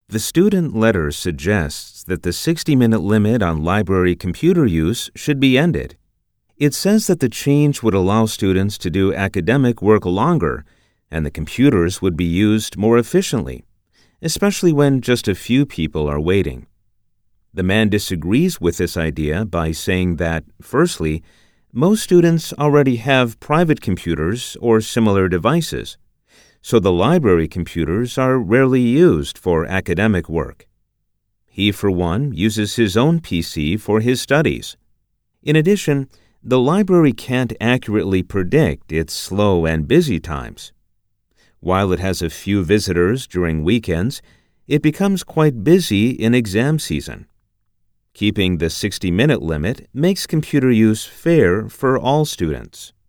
The student letter suggests that the 60-minute limit on library computer use should be ended. It says that the change would allow students to do academic work longer, and the computers would be used more efficiently, especially when just a few people are waiting. The man disagrees with this idea by saying that, firstly, most students already have private computers or similar devices, so the library computers are rarely used for academic work. He, for one, uses his own PC for his studies. In addition, the library can't accurately predict its slow and busy times. While it has a few visitors during weekends, it becomes quite busy in exam season. Keeping the 60-minute limit makes computer use fair for all students.